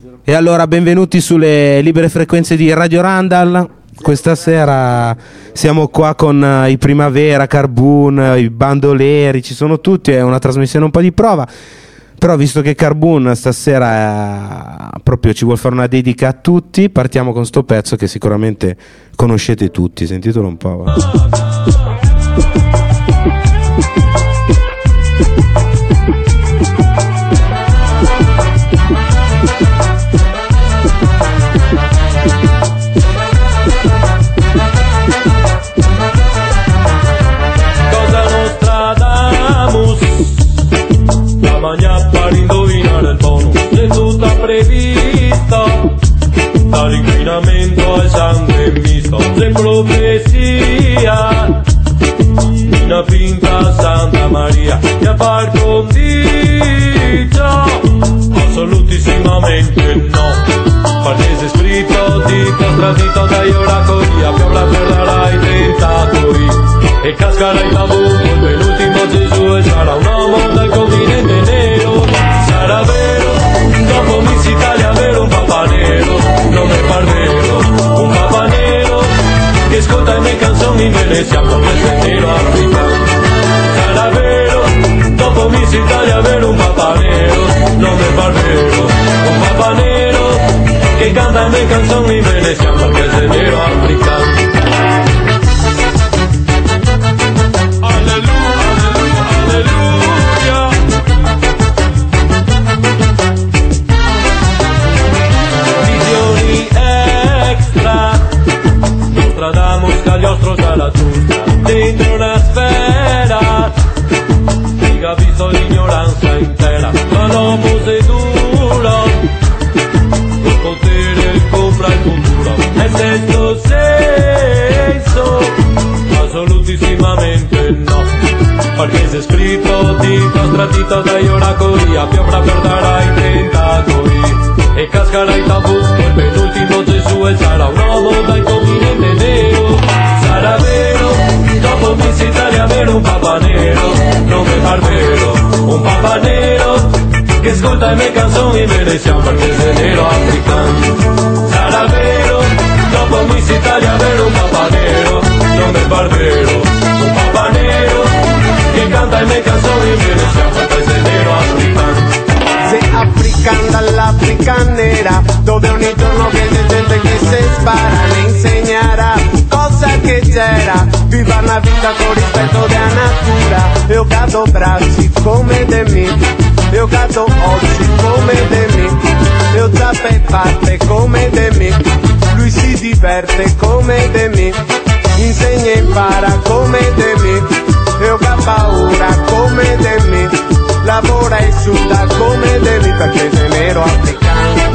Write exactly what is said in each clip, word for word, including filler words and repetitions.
E allora benvenuti sulle libere frequenze di Radio Randall. Questa sera siamo qua con i Primavera, Carbon, i Bandoleri, ci sono tutti, è una trasmissione un po' di prova. Però visto che Carbon stasera eh, proprio ci vuol fare una dedica a tutti, partiamo con sto pezzo che sicuramente conoscete tutti, sentitelo un po'. Va. Dall'inquinamento al sangue misto, se profezia, una finta Santa Maria, che a par condicio, assolutissimamente no, perché se scritto dito, tradito dai oracoli, a piovra perderai tentacoli, e cascarai tabù, il penultimo Gesù e sarà un uomo dal continente nero, sarà vero, dopo Miss Italia vero un papà nero. Non è vero, un papà nero che ascolta le mie canzoni in Venezia perché sei nero africano. Sarà vero, dopo Miss Italia vero un papà nero. Non è vero, un papà nero che canta le mie canzoni in Venezia perché sei nero africano. Dentro una sfera che ha visto l'ignoranza intera, ma l'uomo seduto il potere compra il futuro e senso senso assolutissimamente no, perché se scritto dito stratito dai oracoli, a piovra perderai i tentacoli e cascarai tabù, il penultimo Gesù e sarà un uomo dal continente nero. Sarà vero, dopo Miss Italia vero un papà nero, non mi par vero, un papà nero che ascolta le mie canzoni in Venezia perché sei nero africano. Sarà vero, dopo Miss Italia vero un papà nero, non mi par vero, un papà nero che canta le mie canzoni in Venezia perché sei nero africano. Sei africano dall'Africa nera, dove ogni giorno viene gente che se spara, le insegnerà che c'era, viva una vita con rispetto della natura. Io cado bracci come de me, io cado oggi come de me, io zappe fatte come de me, lui si diverte come de me, insegna e impara come de me, io ha paura come de me, lavora e suda come de me perché sei nero africano.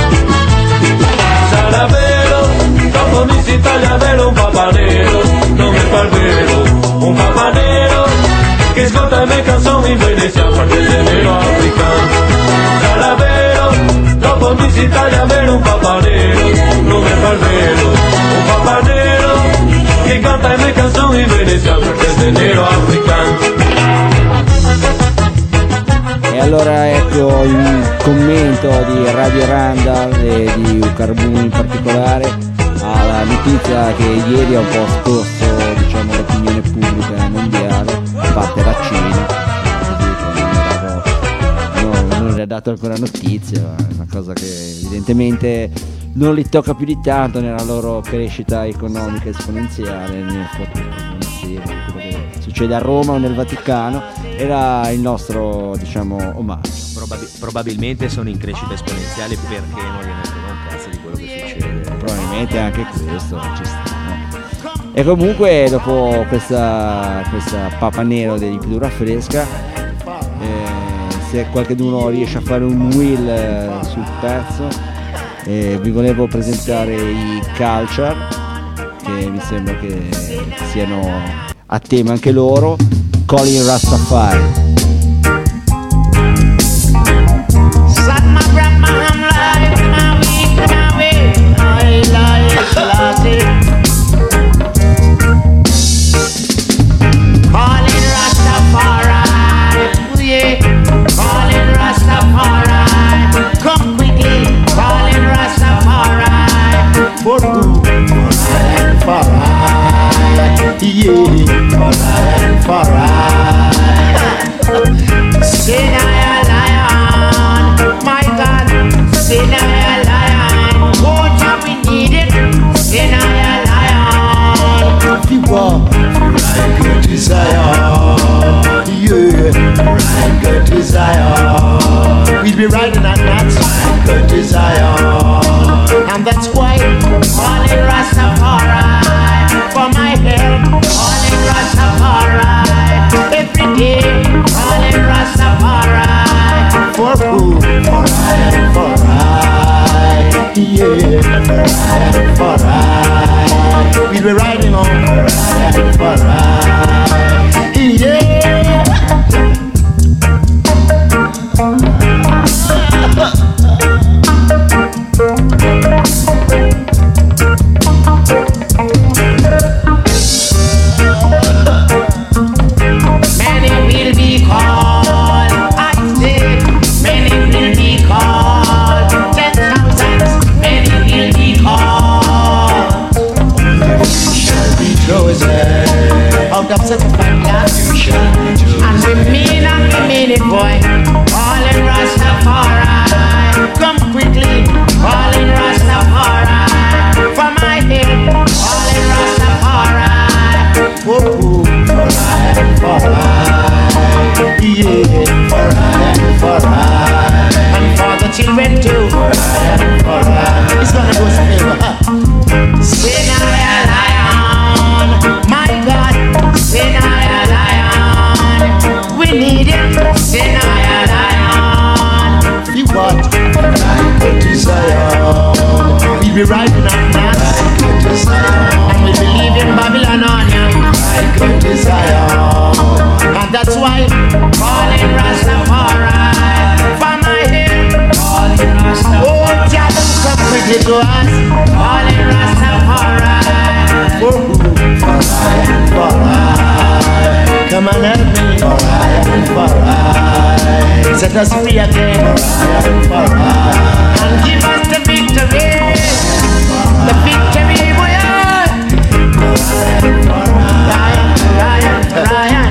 Sarà vero, dopo Miss Italia vero un papà nero, non mi par vero, un papà nero che ascolta le mie canzoni in Venezia perché sei nero africano. Sarà vero, dopo Miss Italia vero un papà nero, non mi par vero, un papà nero che canta le mie canzoni in Venezia perché sei nero africano. E allora ecco il commento di Radio Randall e di Carbon in particolare alla notizia che ieri ha un po' scosso, diciamo, l'opinione pubblica mondiale, a parte la Cina, non, non le ha dato ancora notizia, è una cosa che evidentemente non li tocca più di tanto nella loro crescita economica esponenziale, nel quello che succede a Roma o nel Vaticano. Era il nostro, diciamo, omaggio. Probabil- probabilmente sono in crescita esponenziale perché non gliene frega un cazzo di quello che succede. Probabilmente anche questo ci sta, no? E comunque dopo questa, questa papa nero di pittura fresca, eh, se qualcuno riesce a fare un wheel eh, sul pezzo, eh, vi volevo presentare i Culture, che mi sembra che siano a tema anche loro, Colin Rastafari. Come quickly, Yeah, for ride. We'll be riding on for ride. Yeah. Many will be called, I say, many will be called, ten thousands, many will be called. Shall be chosen Out of such a family, and we mean and we mean it, boy. Calling Rastafari, come quickly. Calling Rastafari, for my head. Calling Rastafari. Oh, for ride, for ride. Yeah, for ride, for ride. And for the children too. For ride, for ride. It's gonna go forever. Sin I a lion, my God. Sin I a lion, we need it. Sin I a lion. You what? Ride go to Zion. We be riding on that, Ride go to Zion. and we believe in Babylon on ya. Ride go to Zion. And that's why calling Rastafari for my head. Calling Rastafari. Oh, Jah, come quickly to us. Calling Rastafari. Oh, for ride, for ride. Come and help me. For ride, for ride. Set us free again. For ride, for ride. And give us the victory. The victory, boy. Ryan, Ryan, Ryan,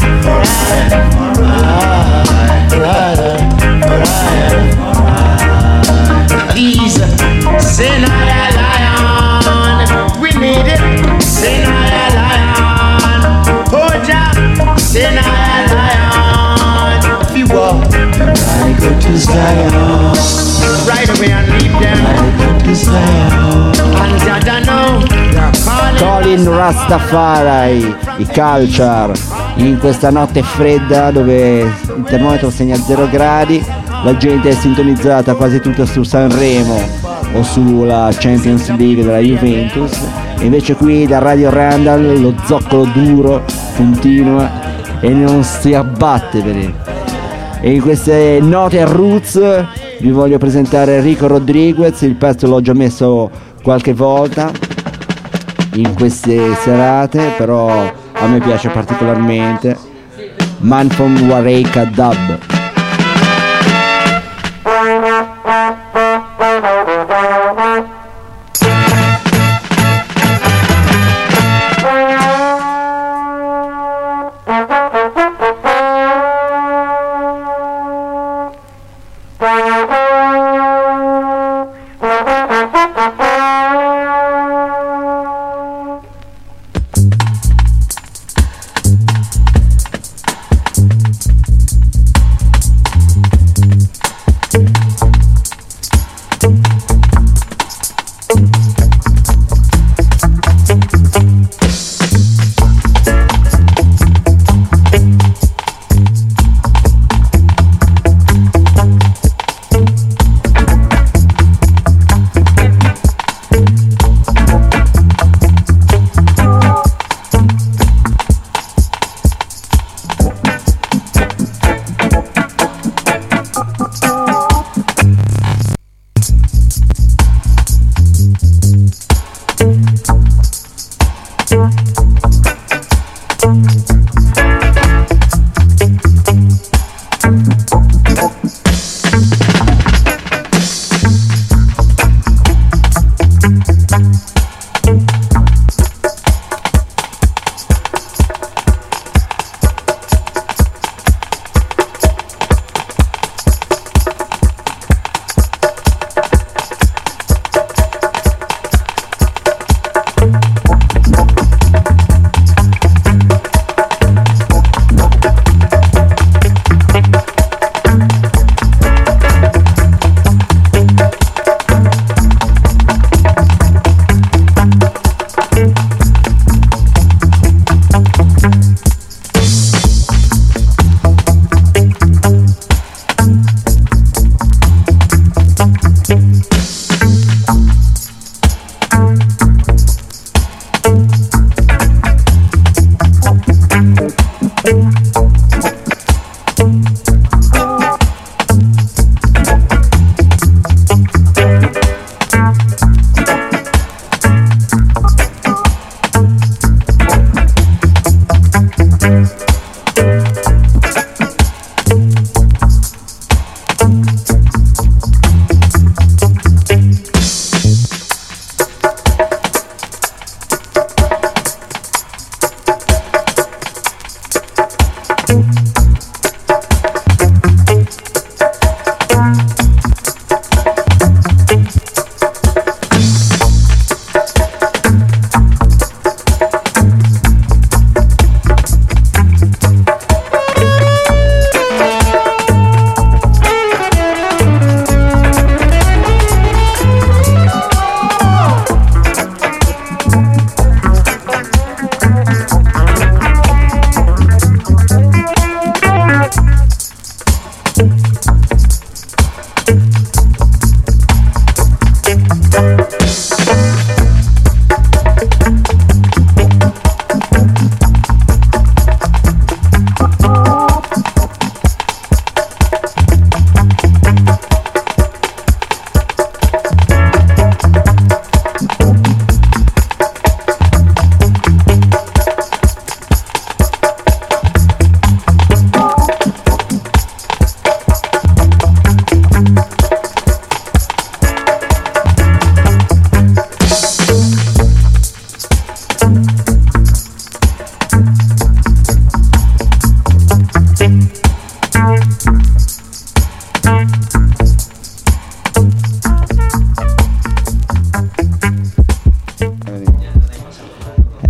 Ryan. Please, sin I a lion. We need it. Sin I a lion. Oh, Jah, sin I a lion. If you walk, Ride go to Zion. right away and leave them. Ride go to Zion. And Jah know they're calling. Colin Rastafari, i Culture, in questa notte fredda dove il termometro segna zero gradi, la gente è sintonizzata quasi tutta su Sanremo o sulla Champions League della Juventus, e invece qui da Radio Randall lo zoccolo duro continua e non si abbatte per il. E in queste note a roots vi voglio presentare Rico Rodriguez, il pezzo l'ho già messo qualche volta in queste serate, però a me piace particolarmente, Man from Wareika Dub.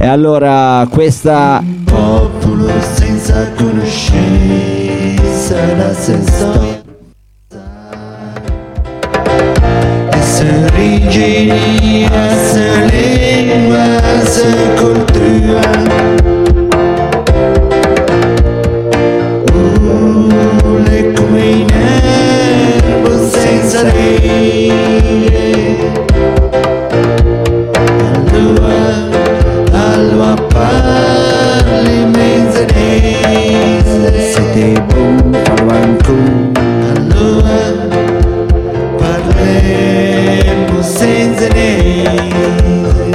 E allora questa popolo senza conoscenza da se storia, essere origini, essere lingua, essere cultura. Uh, le come in erbo senza rete. Allora, allora parli menzenese. siete buon parlancù. Allora parleremo senza niente.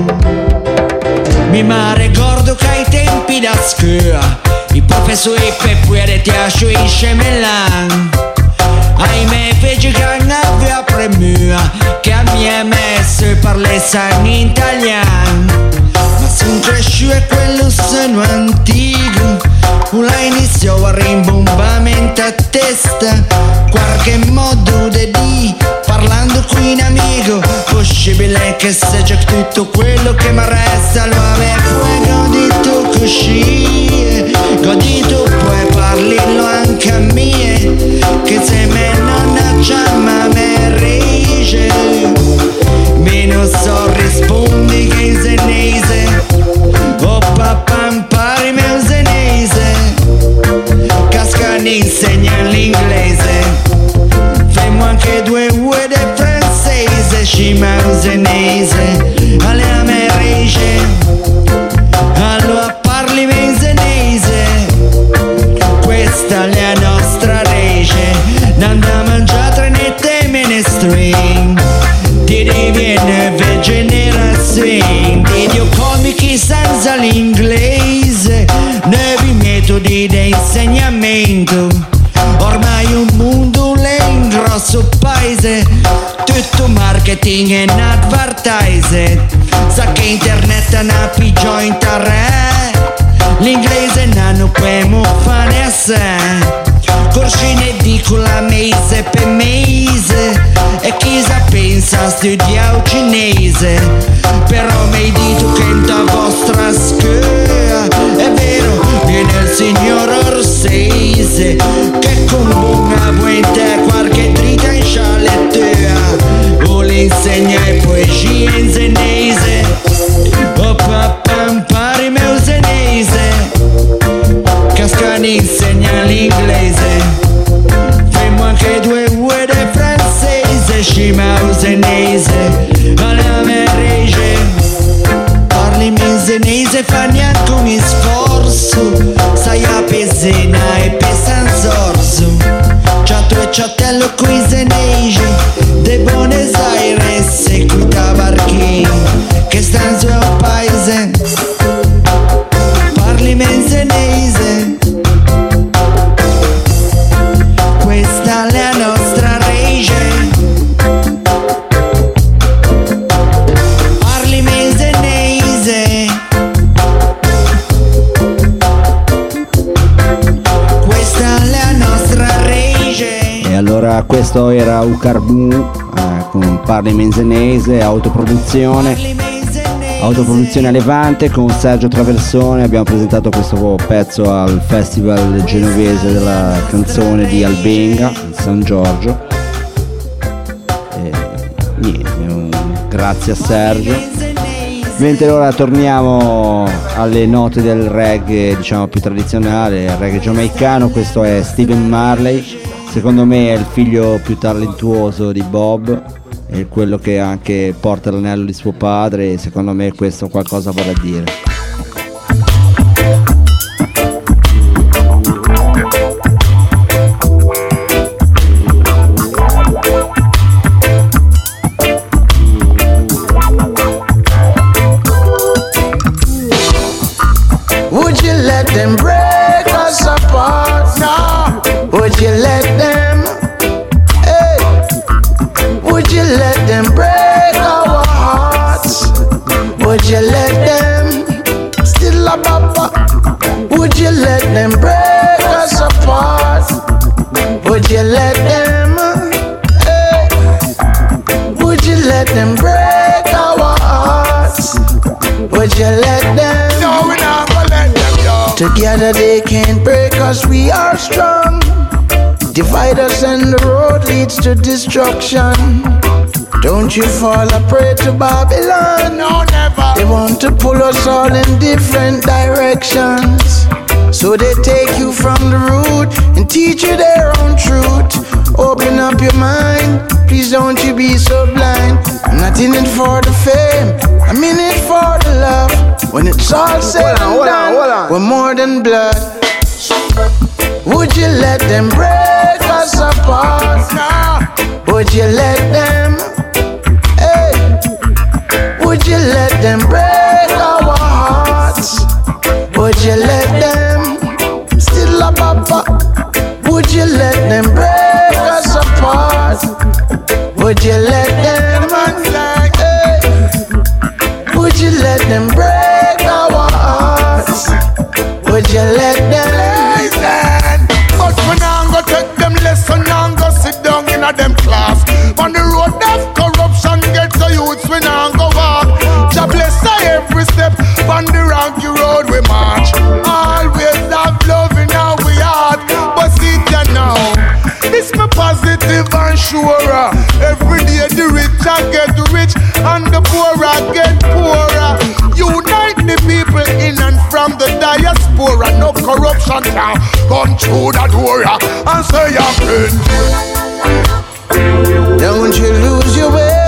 Mi ricordo che ai tempi da scuola i professori per pure ti asciuisce melan. Ahimè fece che aveva premura che a mia messo parlasse in italiano. Ma son cresciuto e quello sono antico, una iniziò a rimbombamento a testa. Qualche modo di di parlando qui in amico, possibile che sia già tutto quello che mi resta. Lo avevo godito così, godito poi parlilo anche a me, che se me non chiama me rige, meno so rispondi che in senese. Oh papà impari mio senese, Cascani insegna l'inglese, femo anche due ue del francese, scima usenese, alle americe, allora parli menzenese, questa è la nostra rece, non da mangiare né te menestrin, ti diviene generazione, di dio comici senza l'inglese, nuovi metodi di insegnamento, ormai un mondo è in grosso paese, tutto marketing e advertise, sa che internet è una pigiò in terra, l'inglese non può fare a sé. Corsi in edicola mese per mese, e chi sa pensa studiare cinese, però mi dito che in ta vostra scuola è vero, viene il signor Orsese che con buona buenta qualche dritta in scialettea vuole insegnare poesia in senese. Oh papà impari mio senese, Cascani insegna l'inglese, femo anche due ue del francese, scima usenese, alla merege, parli menzenese, fa neanche un sforzo, sai a Pesena e Pesanzorzo, ciato e ciatello coi senese, de Buenos Aires e qui tabarchi, che stanno su un paese, parli menzenese, questa è la nostra rege, parli menzenese, questa è la nostra rege. E allora questo era Ucarbu eh, con Parli Menzenese, autoproduzione. Autoproduzione a Levante con Sergio Traversone. Abbiamo presentato questo pezzo al Festival Genovese della Canzone di Albenga, San Giorgio. E niente, un grazie a Sergio. Mentre ora torniamo alle note del reggae, diciamo più tradizionale, il reggae giamaicano. Questo è Stephen Marley, secondo me è il figlio più talentuoso di Bob, è quello che anche porta l'anello di suo padre, e secondo me questo qualcosa vorrà dire. Would you let them break us apart now? Would you let them? Hey, would you let them break our hearts? Would you let them? Still a papa. Would you let them break us apart? Would you let them? Hey, would you let them break our hearts? Would you let them? No, we not gonna let them, yo. Together they can't break us, we are strong. Divide us and the road leads to destruction. Don't you fall a prey to Babylon. No, never. They want to pull us all in different directions. So they take you from the root and teach you their own truth. Open up your mind, please don't you be so blind. I'm not in it for the fame, I'm in it for the love. When it's all said and done, we're more than blood. Would you let them break us apart? No. Would you let them? Hey, would you let them break our hearts? Would you let them? Still a papa. Would you let them break us apart? Would you let them? Hey, would you let them break our hearts? Would you let them? Listen, but we now go take them lesson and go sit down in a them class. On the road of corruption, get to youths, we now go walk. Jah bless us every step on the rocky road we march. Always have love in our heart, but see ya now, it's me positive and sure. Every day the rich I get rich and the poor I get poorer. Unite the people in and from the diaspora. No corruption can come through the door and say you're plenty. Don't you lose your way.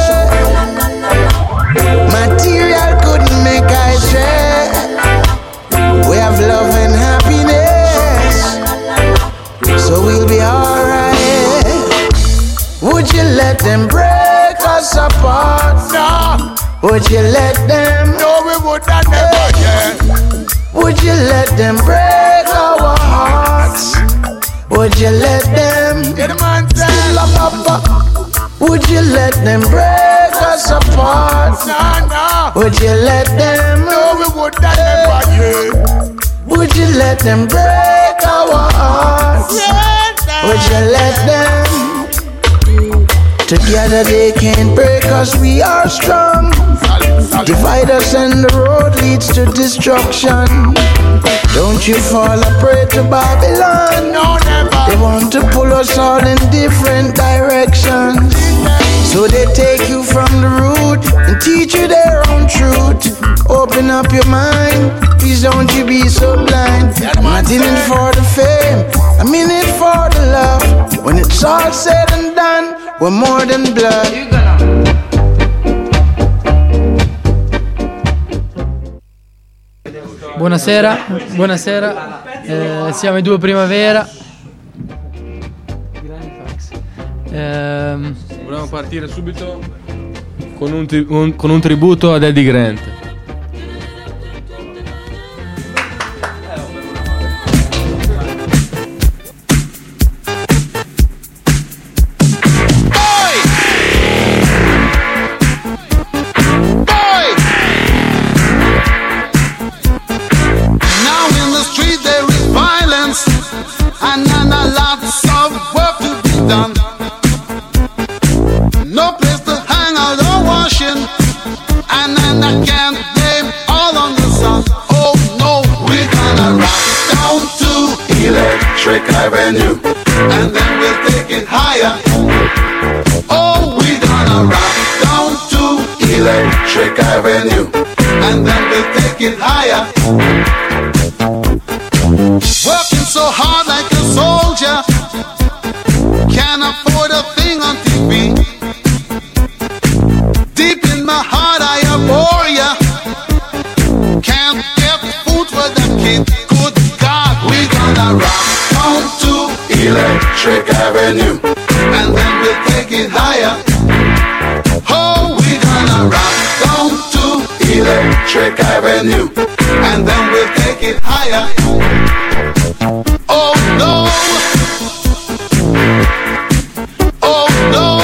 Material couldn't make I share. We have love and happiness, so we'll be alright. Would you let them break us apart? No, Would you let them? no, we would not never, yeah. Would you let them break our hearts? Would you let them? Yeah, the man said, Would you let them break us apart? no, no, Would you let them? no, we would not never, yeah. Would you let them break our hearts? Would you let them? Together they can't break us, we are strong. Divide us and the road leads to destruction. Don't you fall a prey to Babylon. No, never. They want to pull us all in different directions. So they take you from the root and teach you their own truth. Open up your mind, please don't you be so blind. I'm not in it for the fame, I'm in it for the love. When it's all said and done, we're more than blood. Buonasera, buonasera, eh, siamo i Due Primavera. Eh, Volevamo partire subito con un, tri- un- con un tributo ad Eddie Grant. And then a lots of work to be done. No place to hang out or washing. And then I can't blame all on the sun. Oh no, we're gonna rock down to Electric Avenue. And then we'll take it higher. Oh, we're gonna rock down to Electric Avenue. And then we'll take it higher. Working so hard like a soldier, can't afford a thing on T V. Deep in my heart I abhor ya. Can't get food for the kid. Good God, we're gonna rock down to Electric Avenue. And then we'll take it higher. Oh, we're gonna rock down to Electric Avenue. And then we'll take it higher. Oh no! Oh no!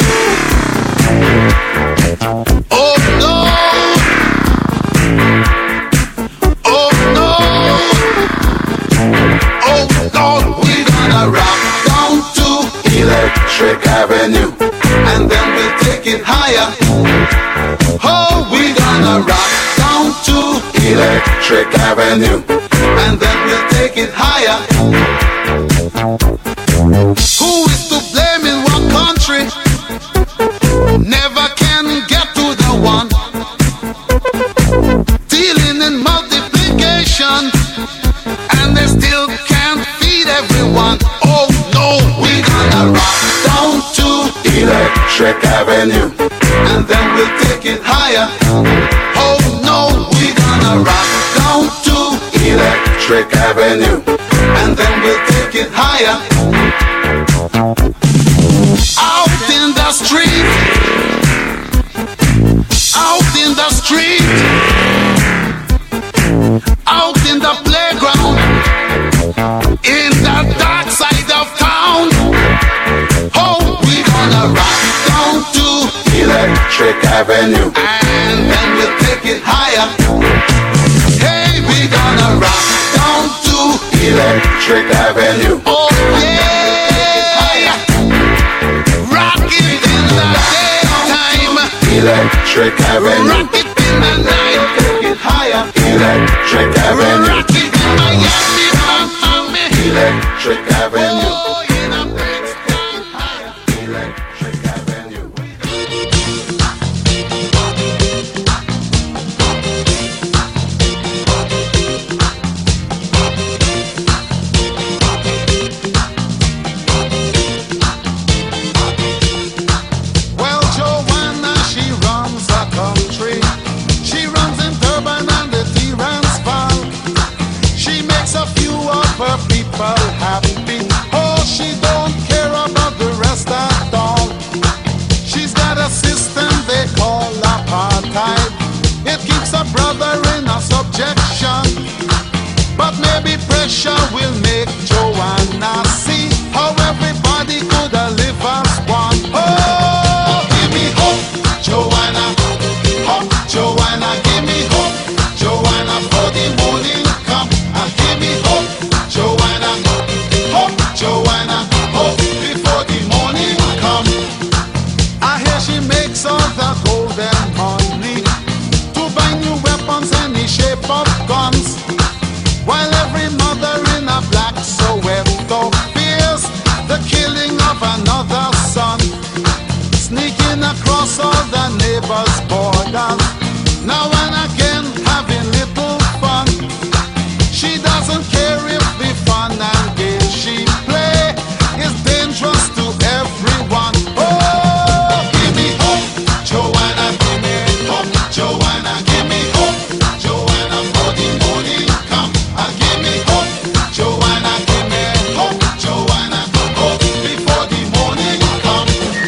Oh no! Oh no! Oh Lord, we're gonna rock down to Electric Avenue. And then we'll take it higher. Oh, we're gonna rock down to Electric Avenue, and then we'll take it higher. Who is to blame in what country? Never can get to the one. Dealing in multiplication, and they still can't feed everyone. Oh no, we gonna rock down to Electric Avenue, and then we'll take it higher. Oh no, we gonna rock down to Electric Avenue, and then we'll take it higher. Out in the street, out in the street, out in the playground, in the dark side of town. Oh, we gonna rock down to Electric Avenue, and then we'll take it higher. Hey, we gonna rock down to Electric Avenue. Oh yeah, rock it in the daytime, Electric Avenue. Rock it in the night, take it higher, Electric Avenue. Rock it in Miami, Miami, Electric Avenue. Oh, in a big sky higher, Electric Avenue. Well, Joanna, she runs a country. She runs in Durban and the Transvaal. She makes a few of her people happy. Oh, she don't care about the rest at all. She's got a system they call apartheid. It keeps a brother in a subjection. But maybe pressure will make Joanna see how everybody could live as one. Oh, give me hope, Joanna. Hope, Joanna, give me hope, Joanna, for the morning come. And give me hope, Joanna. Hope, Joanna, hope before the morning come. I hear she makes all the golden money to buy new weapons any shape of guns, while every mother in a black Soweto fears the killing of another son, sneaking across all the neighbors' borders, now and again having little fun. She doesn't care if the fun and game she play is dangerous to everyone. Oh, give me hope, Joanna, give me hope, Joanna, give me hope, Joanna, for the morning come. And give me hope, Joanna, give me hope, Joanna, hope before the morning come.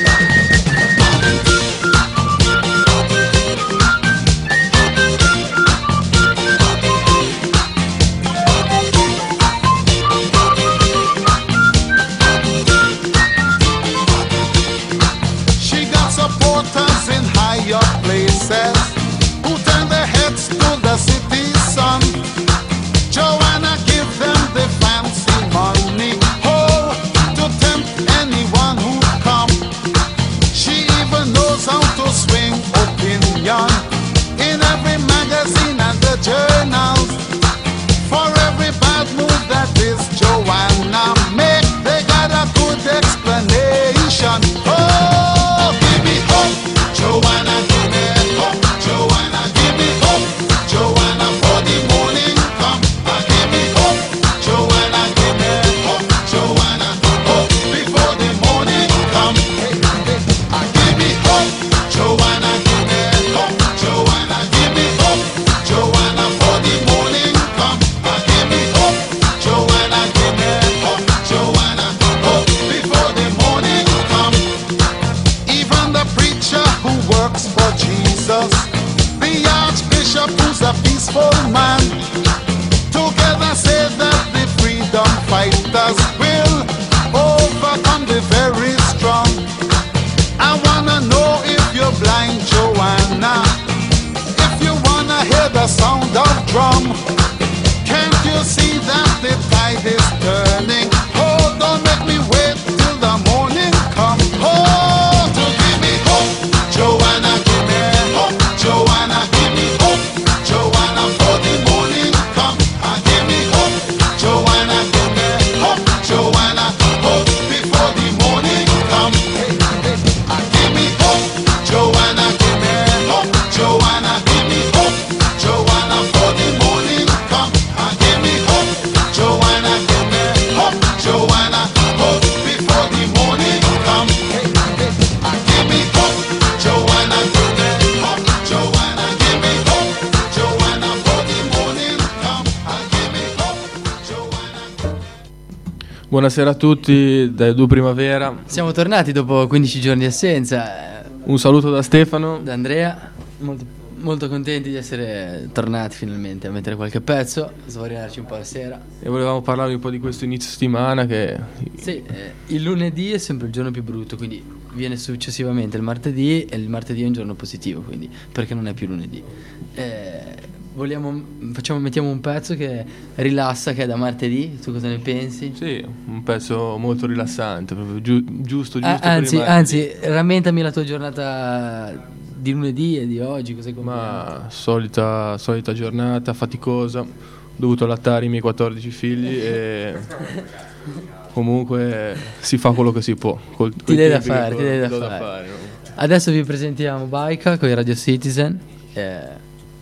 She got supporters in higher places who turn their heads to the city sun. Joanna give them the fancy money, oh, to tempt anyone who come. She even knows how to swing opinion in every magazine and the journals. For every bad move that this Joanna make, they got a good explanation. Oh, give me hope, Joanna, give me hope, Joanna, give me hope, Joanna, for the morning come. And give me hope, Joanna, give me hope, Joanna, hope before the morning come. Hey, hey. And give me hope, Joanna, give me hope, Joanna, give me hope, Joanna, for the morning come. And give me hope, Joanna, give me hope, Joanna, hope before the morning come. Even the preacher who works for Jesus, the archbishop who's a peaceful man, together say that the freedom fighters will overcome the very strong. I wanna know if you're blind, Joanna, if you wanna hear the sound of drum. Can't you see that the tide is turning? Oh, don't make me wait till the morning come. Oh, to give me hope, Joanna, give me hope, Joanna, give me hope, Joanna, for the morning. Buonasera a tutti da Edu Primavera. Siamo tornati dopo quindici giorni di assenza. Un saluto da Stefano. Da Andrea. Molto, molto contenti di essere tornati finalmente a mettere qualche pezzo, a svariarci un po' la sera. E volevamo parlarvi un po' di questo inizio settimana che... Sì, eh, il lunedì è sempre il giorno più brutto, quindi viene successivamente il martedì e il martedì è un giorno positivo, quindi perché non è più lunedì. Eh, vogliamo, facciamo, mettiamo un pezzo che rilassa, che è da martedì, tu cosa ne pensi? Sì, un pezzo molto rilassante, proprio giu- giusto, giusto. Ah, per anzi, il martedì. anzi, rammentami la tua giornata di lunedì e di oggi, cos'hai comprato? Ma solita, solita giornata faticosa, ho dovuto allattare i miei quattordici figli e comunque si fa quello che si può. Col, Ti dai da fare, ti dai da fare. da fare no? Adesso vi presentiamo Baika con i Radio Citizen. Eh,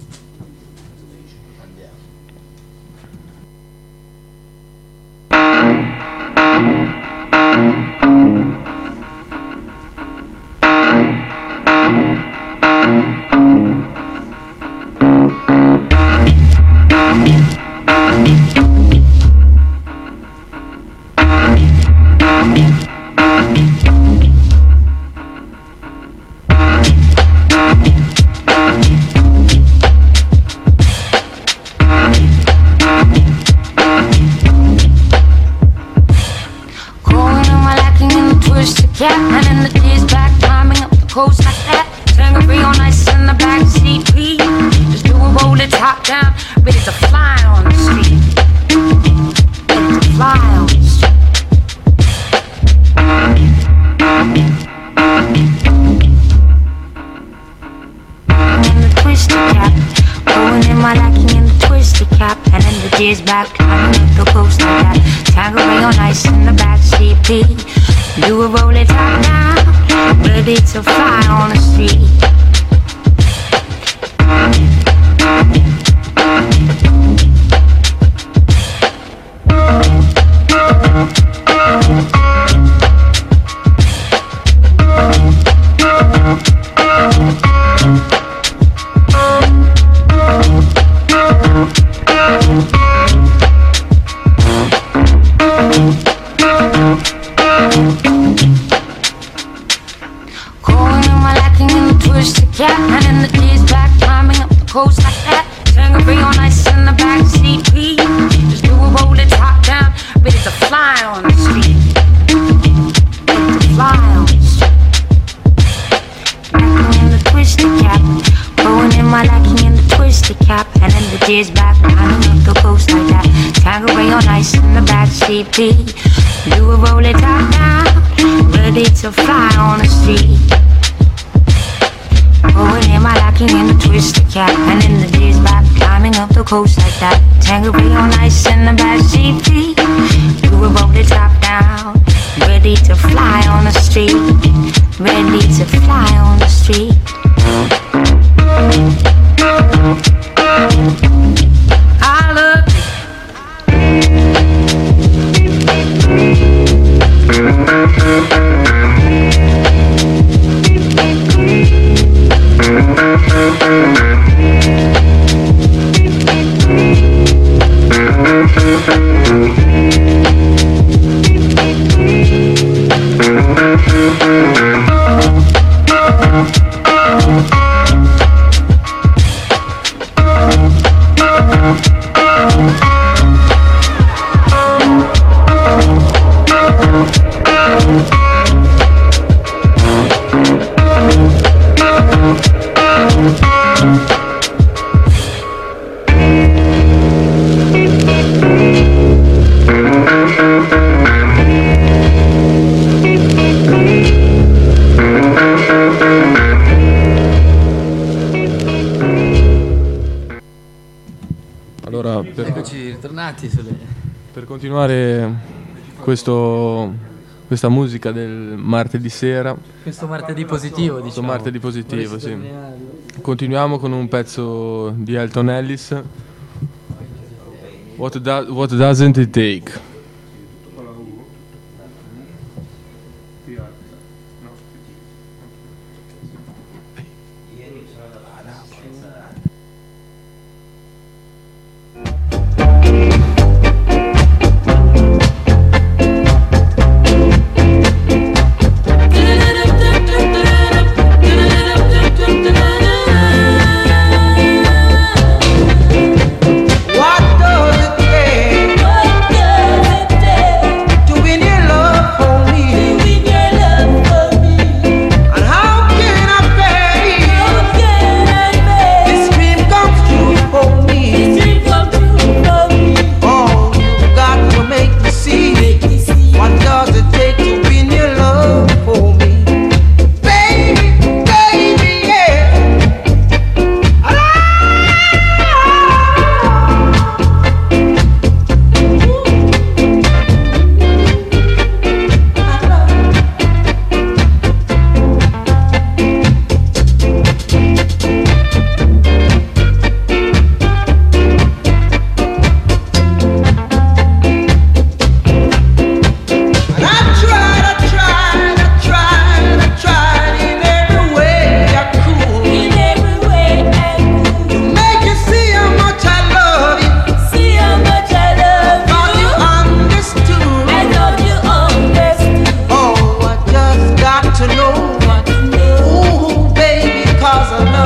Per continuare questo, questa musica del martedì sera, questo martedì positivo, diciamo. Questo martedì positivo, sì. Continuiamo con un pezzo di Elton Ellis, What, do, what Doesn't It Take?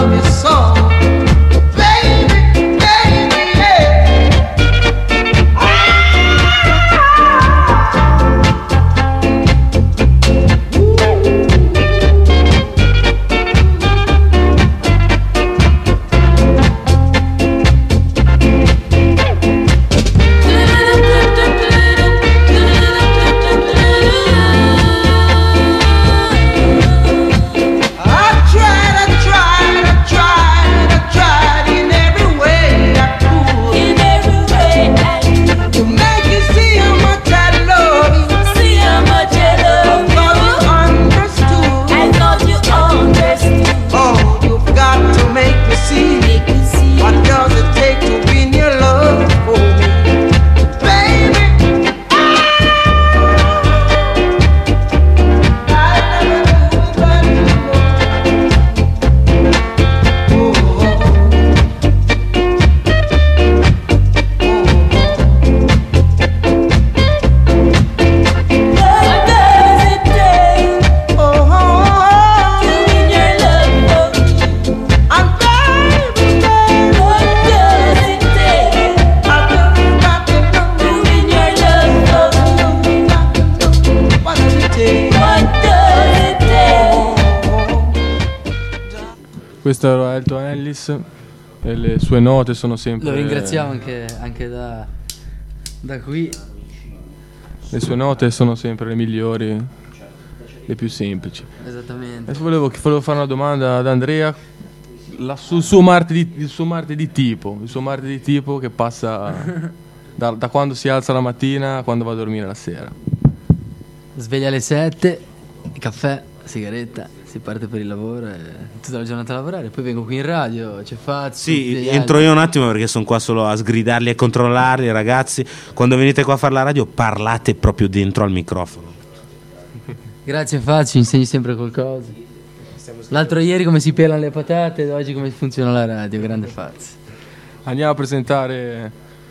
love you so. Baby, baby, yeah. Questo era Elton Ellis e le sue note sono sempre... Lo ringraziamo anche, anche da, da qui. Le sue note sono sempre le migliori, le più semplici. Esattamente. Adesso volevo, volevo fare una domanda ad Andrea la, sul suo martedì, il suo martedì tipo, il suo martedì tipo che passa da, da quando si alza la mattina a quando va a dormire la sera. Sveglia alle sette, caffè, sigaretta, si parte per il lavoro e tutta la giornata a lavorare. Poi vengo qui in radio, c'è Fazio. Sì, entro io un attimo perché sono qua solo a sgridarli e controllarli, ragazzi. Quando venite qua a fare la radio parlate proprio dentro al microfono. Grazie Fazio, insegni sempre qualcosa. L'altro ieri come si pelano le patate ed oggi come funziona la radio, grande Fazio. Andiamo a presentare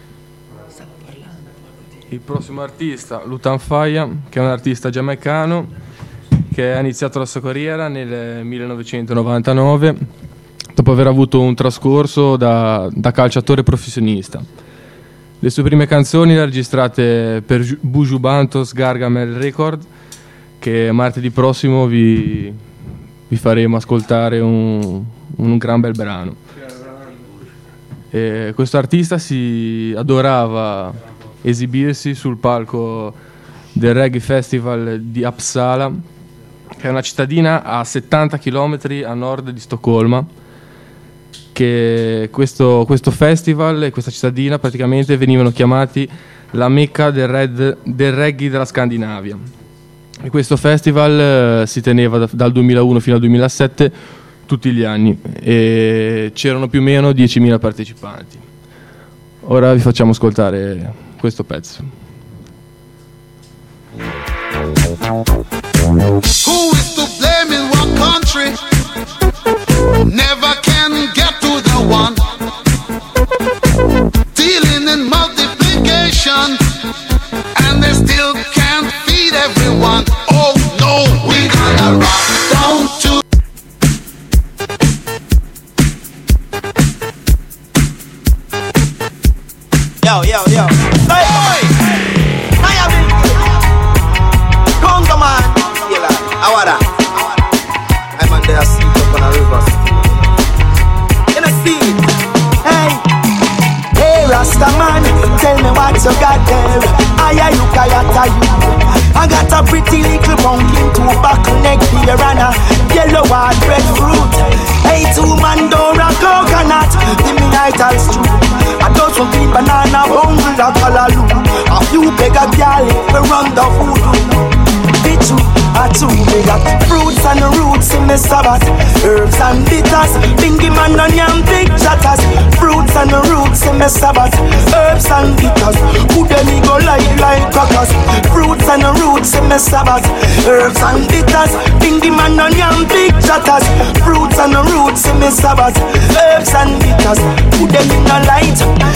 il prossimo artista, Lutan Fyah, che è un artista giamaicano che ha iniziato la sua carriera nel millenovecentonovantanove dopo aver avuto un trascorso da, da calciatore professionista. Le sue prime canzoni le ha registrate per Buju Bantos Gargamel Record, che martedì prossimo vi, vi faremo ascoltare un, un gran bel brano. E questo artista si adorava esibirsi sul palco del Reggae Festival di Uppsala, che è una cittadina a settanta chilometri a nord di Stoccolma, che questo, questo festival e questa cittadina praticamente venivano chiamati la Mecca del, red, del reggae della Scandinavia. E questo festival eh, si teneva da, dal duemilauno fino al duemilasette tutti gli anni e c'erano più o meno diecimila partecipanti. Ora vi facciamo ascoltare questo pezzo. Who is to blame in what country? Never can get to the one. Dealing in multiplication, and they still can't feed everyone. Oh no, we gonna rock down to. Yo, yo, yo. Hey, boy! I am in Congo, man. Yeah, Awara. I'm on there, sleep up on a river. You know, see? Hey. Hey, Rasta man, tell me what you got there. I you kayata you. I got a pretty little pumpkin, two back neck beer and a yellow hard breadfruit. Hey, two mandora coconut, give me nital stew. I got some green banana, bungle, a callaloo. A few beggar gal, we run the voodoo. Bichu, a two, we got fruits and roots in the Sabbath. Herbs and bitters, bingy man and yam big chatters. Fruits and roots in the Sabbath. Herbs and bitters, who them me go like like crackers. Fruits and roots in the Sabbath. Herbs and bitters, bingy man and yam big chatters. Fruits and roots in the Sabbath. Herbs and bitters, who them in the light. Big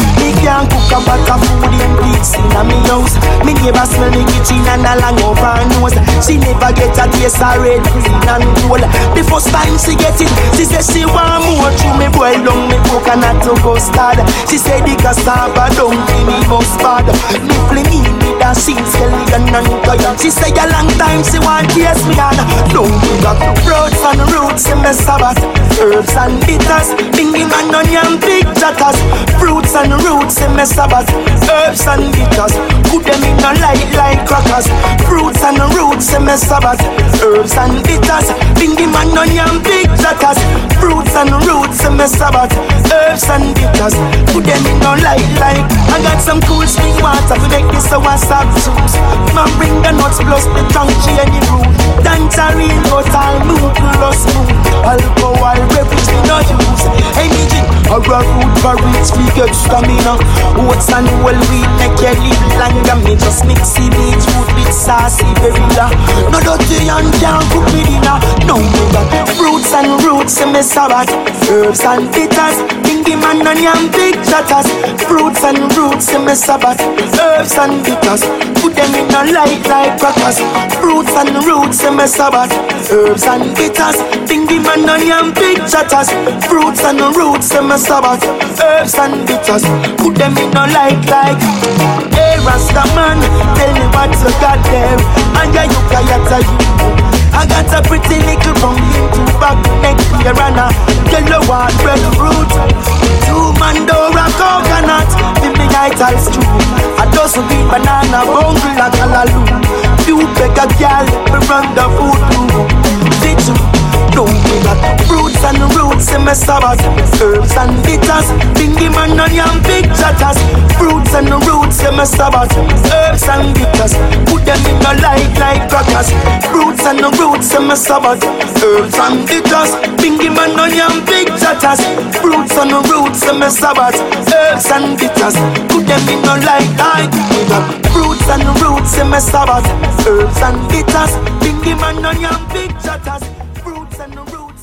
can't cook a pot of food in peace in a me house. Me neighbor smell me kitchen and a long over her nose. She never get a taste of red, green and gold. The first time she get it, she say she want more. Through me boil down me coconut to custard. She say the cassava don't give me mustard. Me fling in with a sheet skeleton and toy. She say a long time she want taste me and don't do that. Roots and roots in me sabbath. Herbs and bitters, bingy man onion big chatters. Fruits and roots in me sabbath. Herbs and bitters, put them in a light like crackers. Fruits and roots in me sabbath. Herbs and bitters, bingy man onion big chatters. Fruits and roots in me sabbath. Herbs and bitters, put them in a light like. I got some cool spring water to make this a WhatsApp juice. Man bring the nuts plus the crunchy and the root. Tangerine, but I'll move plus move. Alcohol, beverage, me no use. Hey, me drink a raw root for rich, we get stamina. Oats and whole wheat make you live longer. Me just mix the beetroot with saucy berilla. No dirty and can't cook me dinner. No, me got fruits and roots in me sabbath. Herbs and bitters, bingy man onion big chatters. Fruits and roots in me sabbath. Herbs and bitters, put them in a light like crackers. Fruits and roots in me sabbath. Herbs and bitters, bingy man onion big chatters. Fruits and roots in me sabbath. Herbs and bitters, put them in a light like. Hey Rasta man, tell me what you got there. And ya you kayata you. I got a pretty little from into back neck here and a yellow one red fruit. Two mandora coconut, with me ital stew. A dozen green banana, bungle like a lalu. Few beggar girl, me run the food too. Did you know me got fruits and roots in my sabbath. Herbs and bitters, bingy man onion big chatters. Fruits and roots in my sabbath. Herbs and bitters, put them in a light like crackers. Fruits and roots in my sabbath. Herbs and bitters, bingy man onion big chatters. Fruits and roots in my sabbath. Herbs and bitters, put them in a light like. Fruits and roots in my sabbath. Herbs and bitters, bingy man onion big chatters. Fruits and roots.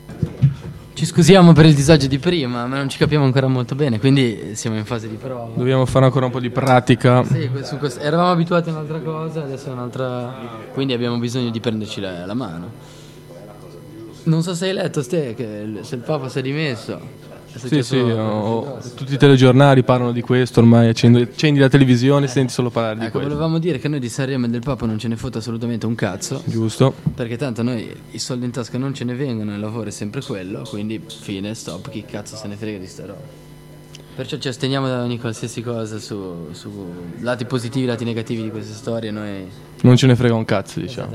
Ci scusiamo per il disagio di prima, ma non ci capiamo ancora molto bene, quindi siamo in fase di prova. Dobbiamo fare ancora un po' di pratica. Sì, su questo, eravamo abituati a un'altra cosa, adesso è un'altra. Quindi abbiamo bisogno di prenderci la, la mano. Non so se hai letto, Ste, che se il Papa si è dimesso. È Sì, sì, successo- ho- tutti i telegiornali parlano di questo, ormai accendi, accendi la televisione e senti solo parlare di Ecco, questo. volevamo dire che noi di Sanremo e del Papa non ce ne fotte assolutamente un cazzo. Giusto. Perché tanto noi i soldi in tasca non ce ne vengono, il lavoro è sempre quello, quindi fine, stop, chi cazzo se ne frega di sta roba. Perciò ci asteniamo da ogni qualsiasi cosa su, su lati positivi, lati negativi di queste storie, noi. Non ce ne frega un cazzo, diciamo.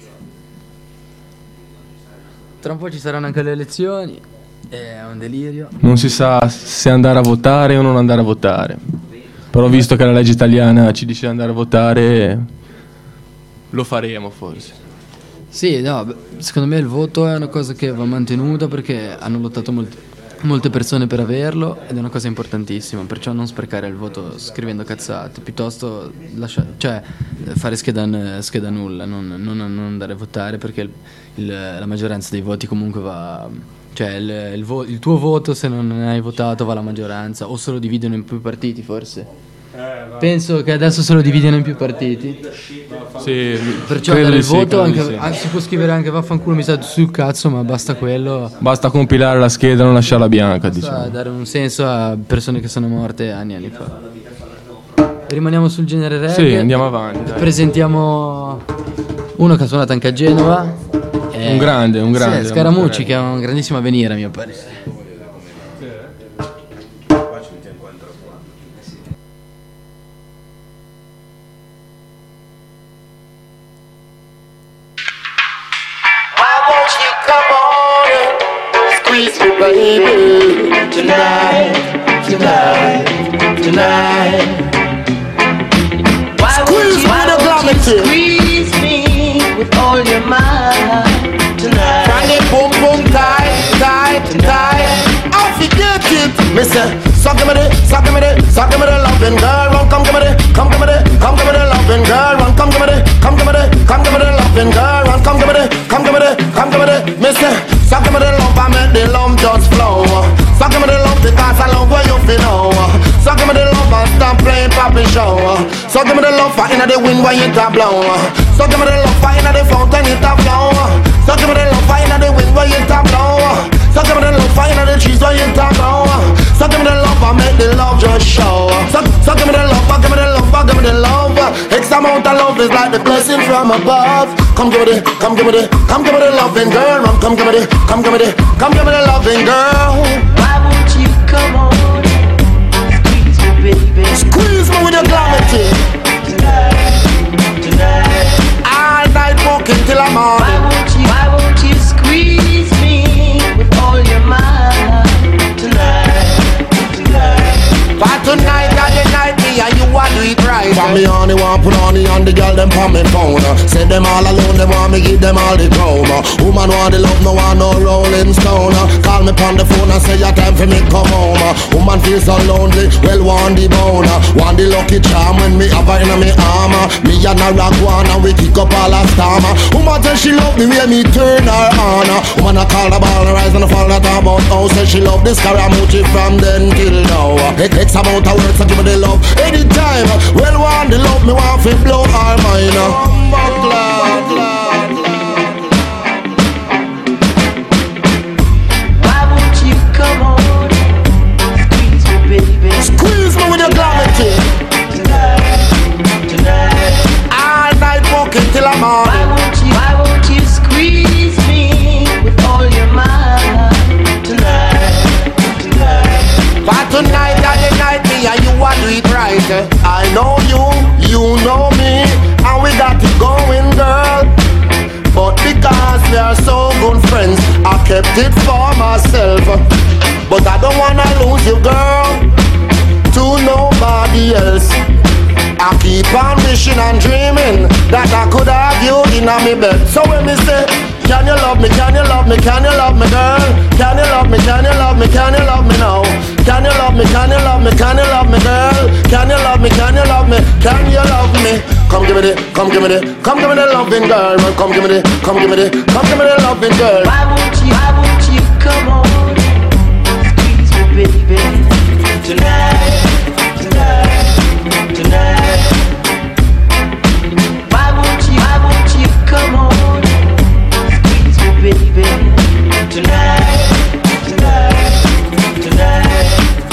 Tra un po' ci saranno anche le elezioni, è un delirio. Non si sa se andare a votare o non andare a votare. Però visto che la legge italiana ci dice di andare a votare, lo faremo forse. Sì, no, beh, secondo me il voto è una cosa che va mantenuta perché hanno lottato molti- molte persone per averlo ed è una cosa importantissima, perciò non sprecare il voto scrivendo cazzate, piuttosto lascia- cioè, fare scheda, n- scheda nulla, non, non- non andare a votare perché il- il- la maggioranza dei voti comunque va. Cioè il, il vo- il tuo voto, se non hai votato, va alla maggioranza, o se lo dividono in più partiti forse. Penso che adesso se lo dividono in più partiti. Sì, Perciò credo dare di il sì, voto credo di anche, sì. ah, si può scrivere anche vaffanculo mi sa sul cazzo, ma basta quello. Basta compilare la scheda e non lasciarla bianca, Basta diciamo. dare un senso a persone che sono morte anni e anni fa. Rimaniamo sul genere reggae. Sì, andiamo avanti, dai. Presentiamo uno che ha suonato anche a Genova. Un grande, un grande. Sì, Scaramucci, che ha un grandissimo avvenire a mio parere. Why won't you come on and squeeze me, baby, tonight, tonight, tonight? Why won't you, why don't you squeeze me with all your might tonight? Find it boom boom tight, tight, tight. I forget it, Mister. Suck me the, suck me the, suck me the loving girl. Run, come give me the, come give me the, come give me the loving girl. Run, come give me the, come give me the, come give me the loving girl. Run, come give me the, come give me the, come give me the, Mister. Suck me the love, I make the love just flow. Suck me the love because I love where you feel. Suck me the love. it poppin' show. So give me the love for inna the wind when it a blow. So give me the love for inna the fountain it a flow. So give me the love for inna the wind when it a blow. So give me the love for inna the trees when it a grow. So give me the love and make the love just show. So, so give me the love, give me the love, give me the love. X amount of love is like the blessing from above. Come give me the, come give me the, come give me the loving girl. Come give me the, come give me the, come give me the loving girl. Why won't you come on, squeeze me, baby? Squeeze me with your gravity. Tonight, tonight. All night walking till I'm on. Why won't you, why won't you squeeze me with all your might? Tonight, tonight. But tonight and the night, me and you want to do it right. For me on the one put on the on the girl them on me phone. Say them all alone, they want me give them all the chrome. Woman want the love, no want no rolling stone. Call me on the phone and say your time for me come home. Woman feel so lonely, well want the bone. Want the lucky charm when me have her in me arm. Me and her rock one and we kick up all a storm. Woman say she love the way me turn her on. Woman I call the ball, the rise and the fall that about how. Say she love this Scaramucci from then till now. X amount of words, I give her the love anytime. Well, want the love, me want to blow all mine. Why won't you come on, squeeze me, baby? Squeeze me with your gravity. Tonight, tonight. All night walking till I'm on. Why won't you, why won't you squeeze me with all your might? Tonight, tonight. But tonight and the night, me and you want to do it right. I know you, you know me, and we got it going, girl. But because we are so good friends, I kept it for myself. But I don't wanna lose you, girl, to nobody else. I keep on wishing and dreaming that I could have you in a me bed. So when me say, can you love me, can you love me, can you love me, girl? Can you love me, can you love me, can you love me now? Can you love me, can you love me, can you love me, girl? Can you love me, can you love me, can you love me? Come give me the, come give me the, come give me the loving girl. Come give me the, come give me the, come give me the loving girl. Why won't you, why won't you come on, squeeze me, baby? Tonight, tonight, tonight. Why won't you, why won't you come on, squeeze me, baby? Tonight, tonight, tonight.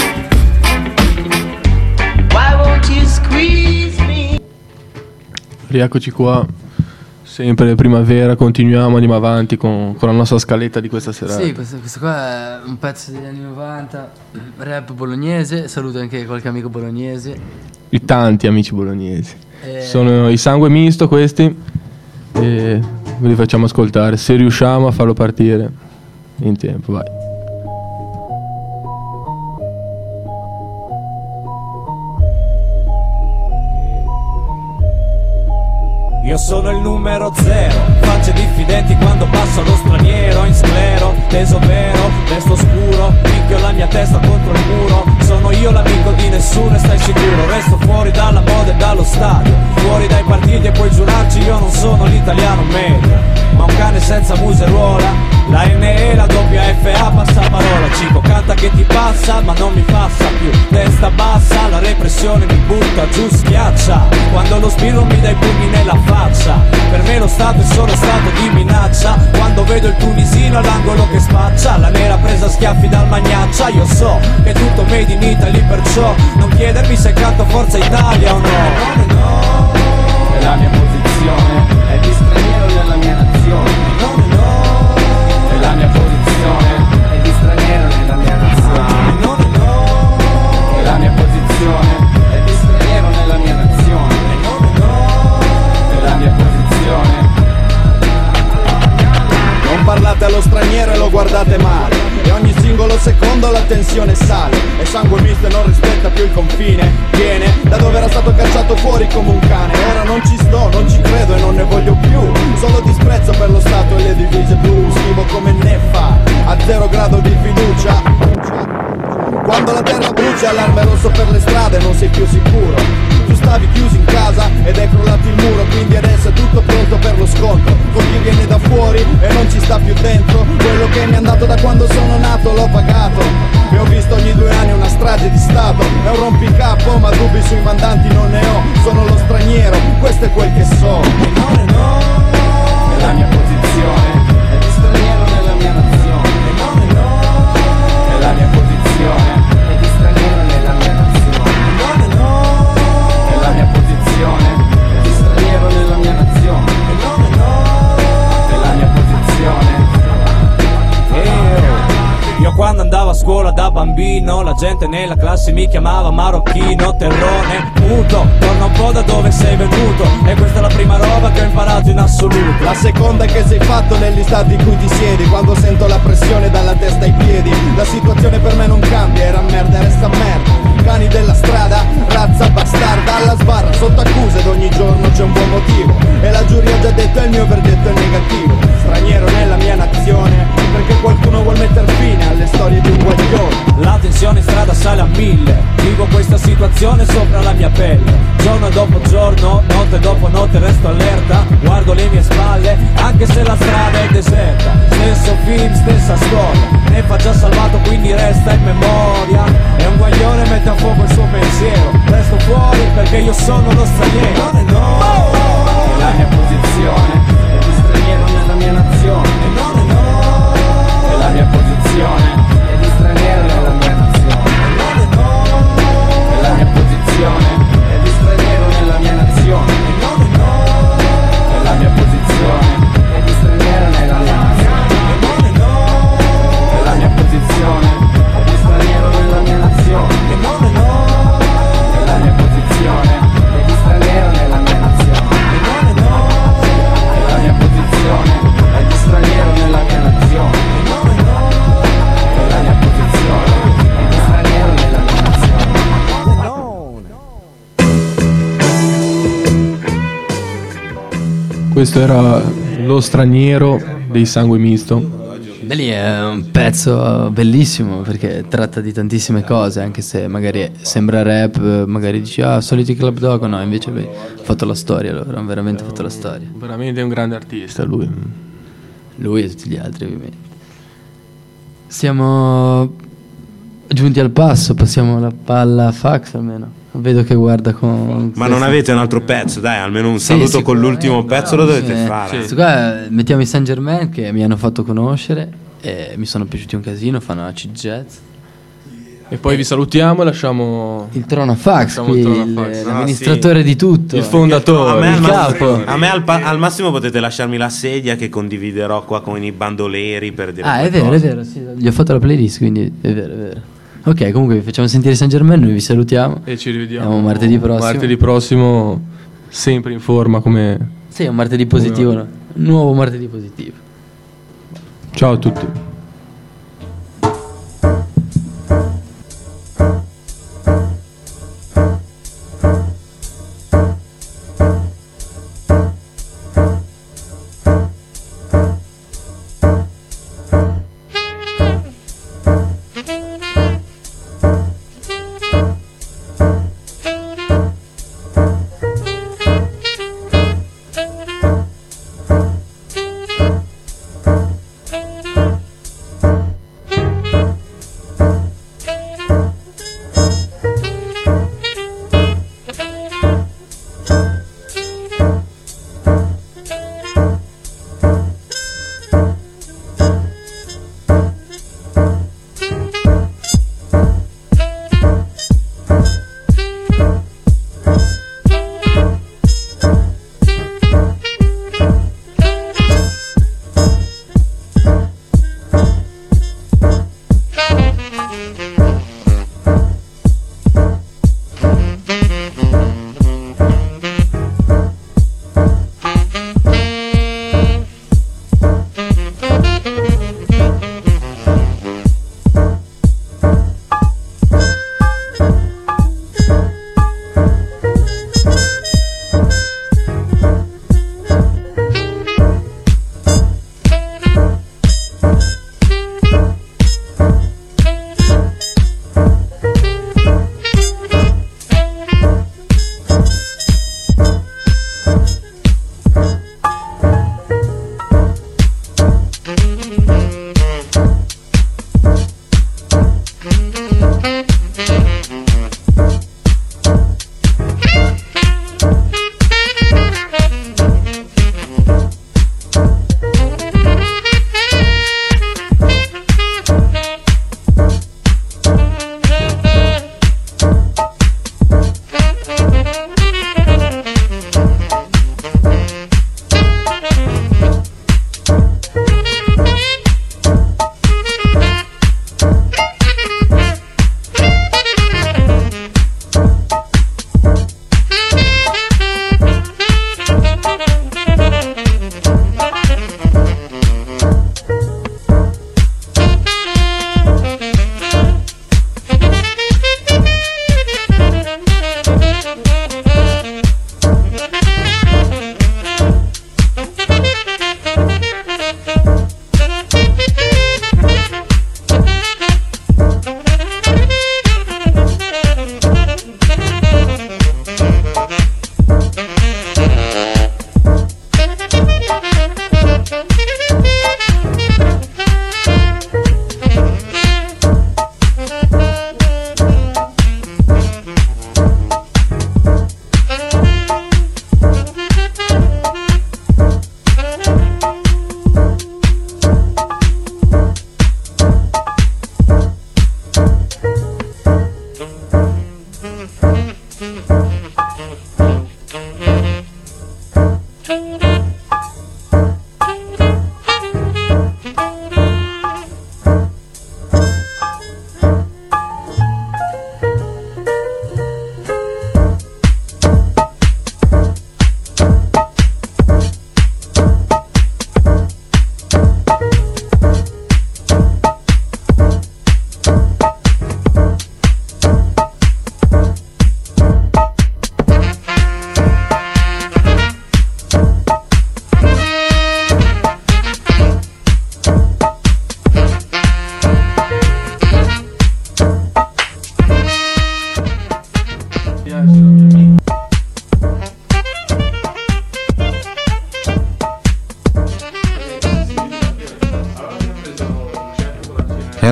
Why won't you squeeze me? Rieccoci qua, sempre primavera, continuiamo, andiamo avanti con, con la nostra scaletta di questa serata. Sì, questo, questo qua è un pezzo degli anni novanta, rap bolognese, saluto anche qualche amico bolognese. I tanti amici bolognesi. Eh. Sono i Sangue Misto questi, e ve li facciamo ascoltare, se riusciamo a farlo partire in tempo, vai. Io sono il numero zero, facce diffidenti quando passo lo straniero in sclero, teso vero, resto scuro, picchio la mia testa contro il muro. Sono io l'amico di nessuno e stai sicuro, resto fuori dalla moda e dallo stadio, fuori dai partiti e puoi giurarci io non sono l'italiano medio, ma un cane senza museruola. La N E, la doppia F A, passa parola, Cico canta che ti passa ma non mi passa più. Testa bassa, la repressione mi butta giù, schiaccia. Quando lo spirito mi dà i pugni nella faccia. Per me lo Stato è solo stato di minaccia. Quando vedo il tunisino all'angolo che spaccia, la nera presa a schiaffi dal magnaccia. Io so che è tutto made in Italy, perciò non chiedermi se canto Forza Italia o no. No, no, è la mia posizione, è di straniero nella mia nazione. No, no, è la mia posizione, è di straniero nella mia nazione. No, no, è la mia posizione, è di straniero nella mia nazione. No, no, è la mia posizione. Non parlate allo straniero e lo guardate male, e ogni singolo secondo la tensione sale. E Sangue Misto e non rispetta più il confine, viene da dove era stato cacciato fuori come un cane. Ora non ci sto, non ci credo e non ne voglio più. Solo disprezzo per lo Stato e le divise blu. Scrivo come neffa, a zero grado di fiducia. Quando la terra brucia, allarme rosso per le strade, non sei più sicuro. Tu stavi chiuso in casa ed è crollato il muro, quindi adesso è tutto pronto per lo scontro. Con chi viene da fuori e non ci sta più dentro. Quello che mi è andato da quando sono nato l'ho pagato. E ho visto ogni due anni una strage di stato. È un rompicapo ma dubbi sui mandanti non ne ho, sono lo straniero, questo è quel che so. E no, e no, è la mia posizione, è di straniero nella mia nazione. E no, e no, è la mia posizione, è di straniero nella mia nazione. E no, e no, è la mia posizione, è di straniero nella mia nazione. E no, e no, è la mia posizione. Io quando andavo a scuola da bambino, la gente nella classe mi chiamava marocchino, terrone, muto. Torna un po' da dove sei venuto, e questa è la prima roba che ho imparato in assoluto. La seconda è che sei fatto nell'istante in cui ti siedi, quando sento la pressione dalla testa ai piedi. La situazione per me non cambia, era merda e resta merda. Cani della strada, razza bastarda, alla sbarra, sotto accusa ed ogni giorno c'è un buon motivo. E la giuria ha già detto il mio verdetto è negativo. Straniero nella mia nazione, perché qualcuno vuol metter fine alle storie di un guaglione. La tensione in strada sale a mille, vivo questa situazione sopra la mia pelle. Giorno dopo giorno, notte dopo notte resto allerta, guardo le mie spalle, anche se la strada è deserta. Stesso film, stessa storia, ne fa già salvato quindi resta in memoria. E un guaglione mette a fuoco il suo pensiero, resto fuori perché io sono lo straniero. E no, è la mia posizione, è di straniero nella mia nazione. E no, e no, è la mia posizione, è di straniero nella mia nazione. E no, e no, è la mia posizione, è di straniero nella mia nazione. E no, e no, è la mia posizione, è di straniero nella mia nazione. E no, e no, è la mia posizione, è di straniero nella mia nazione. E no, e no, è la mia posizione, è di straniero nella mia nazione. E no, e no, è la mia posizione, è di straniero nella mia nazione. E no, e no, è la mia posizione, è di straniero nella mia nazione. Questo era Lo straniero dei Sangue Misto. Beh, lì è un pezzo bellissimo perché tratta di tantissime cose, anche se magari sembra rap, magari dici ah, soliti Club Dog, no, invece beh, ha fatto la storia, allora, ha veramente fatto la storia. Veramente è un grande artista lui. Lui e tutti gli altri ovviamente. Siamo giunti al passo, passiamo la palla a Fax almeno. Vedo che guarda con... Ma non avete un altro pezzo? Dai, almeno un Sì, saluto con l'ultimo pezzo lo dovete Sì. fare. Questo qua mettiamo i Saint Germain che mi hanno fatto conoscere e mi sono piaciuti un casino, fanno acid jazz. E poi vi salutiamo e lasciamo il trono a Fax, lasciamo qui, il trono a il- Fax. l'amministratore di tutto. Il fondatore. A me, al il massimo, capo. a me al, pa- al massimo potete lasciarmi la sedia che condividerò qua con i bandoleri per dire Ah, è qualcosa. vero, è vero, sì, gli ho fatto la playlist, quindi è vero, è vero. Ok, comunque vi facciamo sentire Saint Germain, noi vi salutiamo. E ci rivediamo Siamo martedì prossimo. Martedì prossimo, sempre in forma come... Sì, è un martedì positivo, no? Un nuovo martedì positivo. Ciao a tutti.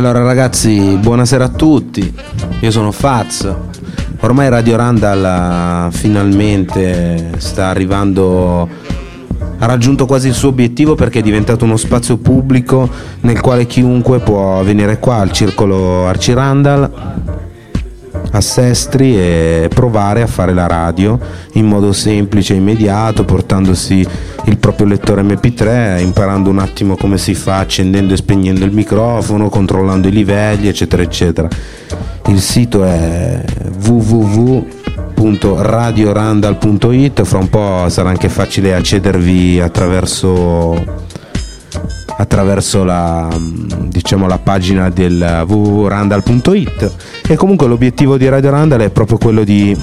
Allora ragazzi, buonasera a tutti, io sono Faz. Ormai Radio Randall finalmente sta arrivando, ha raggiunto quasi il suo obiettivo, perché è diventato uno spazio pubblico nel quale chiunque può venire qua al circolo Arci Randall a Sestri e provare a fare la radio in modo semplice e immediato, portandosi il proprio lettore emme pi tre, imparando un attimo come si fa, accendendo e spegnendo il microfono, controllando i livelli, eccetera eccetera. Il sito è w w w punto radio randall punto i t. Fra un po' sarà anche facile accedervi attraverso attraverso la, diciamo, la pagina del w w w punto randall punto i t. E comunque l'obiettivo di Radio Randall è proprio quello di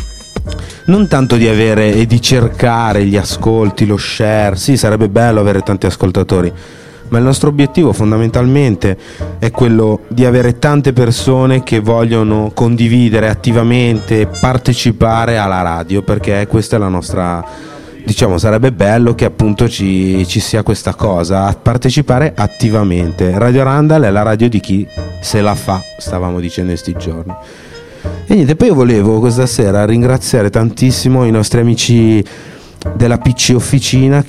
non tanto di avere e di cercare gli ascolti, lo share. Sì, sarebbe bello avere tanti ascoltatori, ma il nostro obiettivo fondamentalmente è quello di avere tante persone che vogliono condividere attivamente, partecipare alla radio, perché questa è la nostra, diciamo, sarebbe bello che appunto ci, ci sia questa cosa, partecipare attivamente. Radio Randall è la radio di chi se la fa, stavamo dicendo in sti giorni. E niente, poi io volevo questa sera ringraziare tantissimo i nostri amici della P C Officina,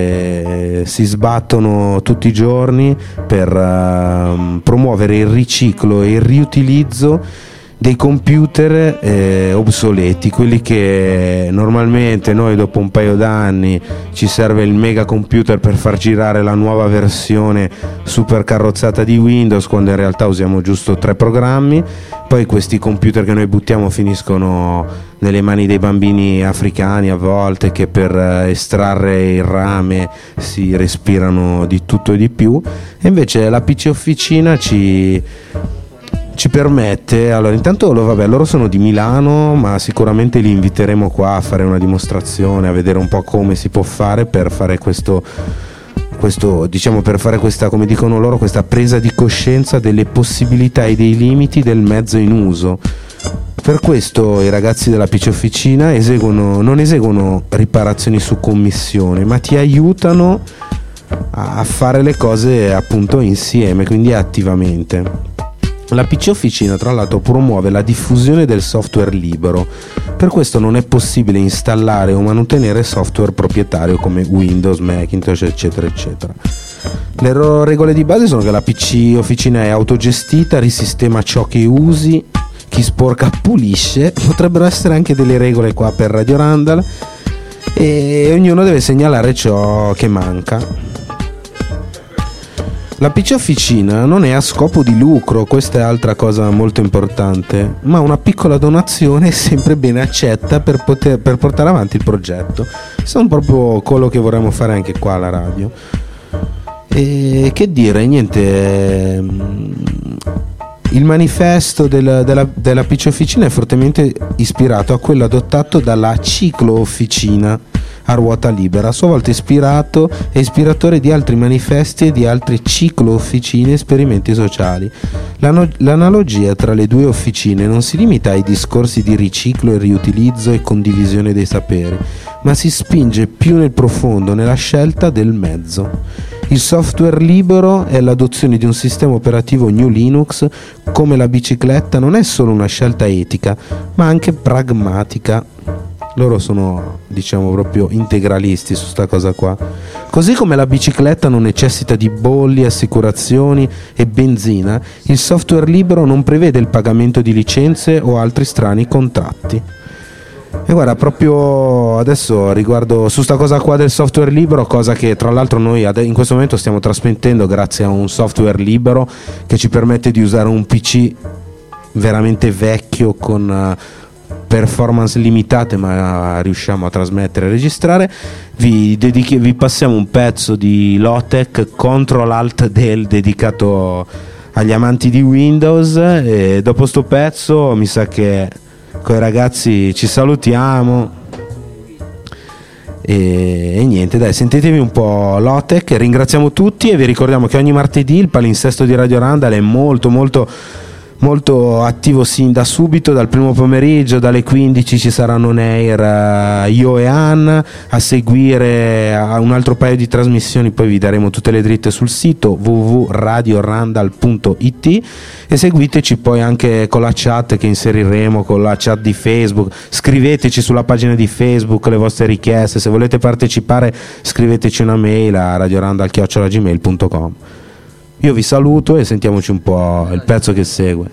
che si sbattono tutti i giorni per uh, promuovere il riciclo e il riutilizzo dei computer eh, obsoleti, quelli che normalmente noi dopo un paio d'anni ci serve il mega computer per far girare la nuova versione super carrozzata di Windows, quando in realtà usiamo giusto tre programmi. Poi questi computer che noi buttiamo finiscono nelle mani dei bambini africani a volte, che per estrarre il rame si respirano di tutto e di più. E invece la P C Officina ci ci permette, allora intanto vabbè, loro sono di Milano, ma sicuramente li inviteremo qua a fare una dimostrazione, a vedere un po' come si può fare per fare questo questo diciamo per fare questa, come dicono loro, questa presa di coscienza delle possibilità e dei limiti del mezzo in uso. Per questo i ragazzi della P C Officina eseguono, non eseguono riparazioni su commissione, ma ti aiutano a fare le cose appunto insieme, quindi attivamente. La P C Officina tra l'altro promuove la diffusione del software libero, per questo non è possibile installare o mantenere software proprietario come Windows, Macintosh, eccetera eccetera. Le ro- regole di base sono che la P C Officina è autogestita, risistema ciò che usi, chi sporca pulisce. Potrebbero essere anche delle regole qua per Radio Randall, e ognuno deve segnalare ciò che manca. La P C Officina non è a scopo di lucro, questa è altra cosa molto importante, ma una piccola donazione è sempre ben accetta per, poter, per portare avanti il progetto. Sono proprio quello che vorremmo fare anche qua alla radio. E che dire, niente, il manifesto del, della, della P C Officina è fortemente ispirato a quello adottato dalla Ciclo Officina a ruota libera, a sua volta ispirato e ispiratore di altri manifesti e di altre ciclo officine e esperimenti sociali. L'ano- l'analogia tra le due officine non si limita ai discorsi di riciclo e riutilizzo e condivisione dei saperi, ma si spinge più nel profondo nella scelta del mezzo. Il software libero e l'adozione di un sistema operativo New Linux come la bicicletta non è solo una scelta etica, ma anche pragmatica. Loro sono, diciamo, proprio integralisti su sta cosa qua. Così come la bicicletta non necessita di bolli, assicurazioni e benzina, il software libero non prevede il pagamento di licenze o altri strani contratti. E guarda, proprio adesso riguardo su sta cosa qua del software libero, cosa che tra l'altro noi in questo momento stiamo trasmettendo grazie a un software libero che ci permette di usare un P C veramente vecchio con uh, performance limitate, ma riusciamo a trasmettere e registrare. Vi, dedichi- vi passiamo un pezzo di Lotec, Control Alt Del, dedicato agli amanti di Windows, e dopo sto pezzo mi sa che con i ragazzi ci salutiamo e, e niente, dai, sentitevi un po' Lotec. Ringraziamo tutti e vi ricordiamo che ogni martedì il palinsesto di Radio Randall è molto molto molto attivo sin da subito, dal primo pomeriggio, dalle quindici ci saranno on air uh, io e Ann, a seguire uh, un altro paio di trasmissioni, poi vi daremo tutte le dritte sul sito w w w punto radio randall punto i t, e seguiteci poi anche con la chat che inseriremo, con la chat di Facebook. Scriveteci sulla pagina di Facebook le vostre richieste, se volete partecipare scriveteci una mail a radiorandall chiocciola gmail punto com. Io vi saluto e sentiamoci un po' il pezzo che segue.